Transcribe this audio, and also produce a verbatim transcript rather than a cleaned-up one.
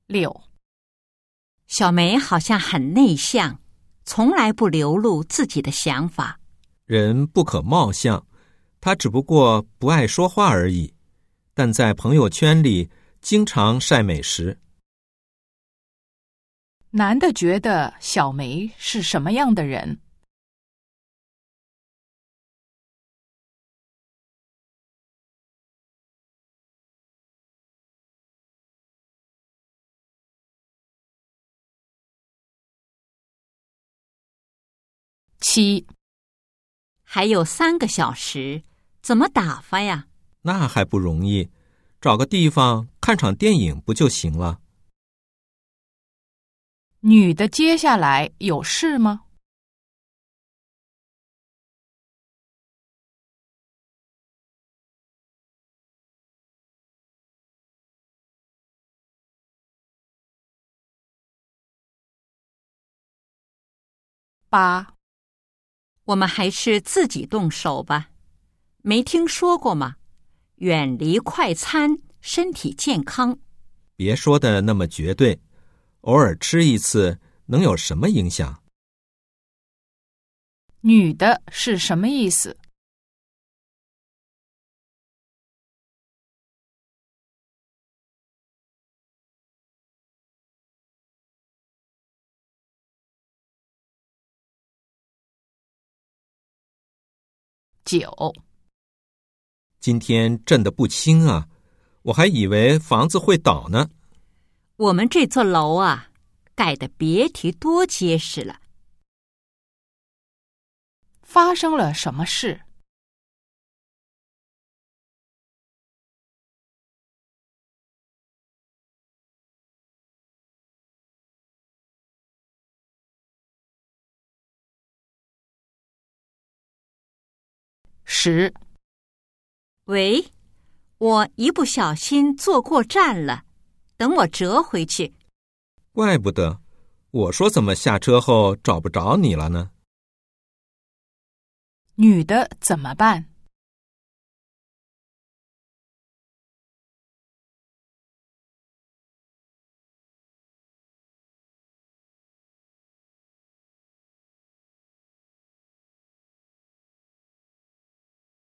六， 小梅好像很内向，从来不流露自己的想法。 人不可貌相，他只不过不爱说话而已，但在朋友圈里经常晒美食。 男的觉得小梅是什么样的人？七， 还有三个小时，怎么打发呀？ 那还不容易，找个地方看场电影不就行了？ 女的接下来有事吗？八， 我们还是自己动手吧。没听说过吗？远离快餐，身体健康。 别说的那么绝对，偶尔吃一次能有什么影响？ 女的是什么意思？九， 今天震得不轻啊，我还以为房子会倒呢。 我们这座楼啊，盖得别提多结实了。 发生了什么事？十， 喂，我一不小心坐过站了，等我折回去。 怪不得，我说怎么下车后找不着你了呢？ 女的怎么办？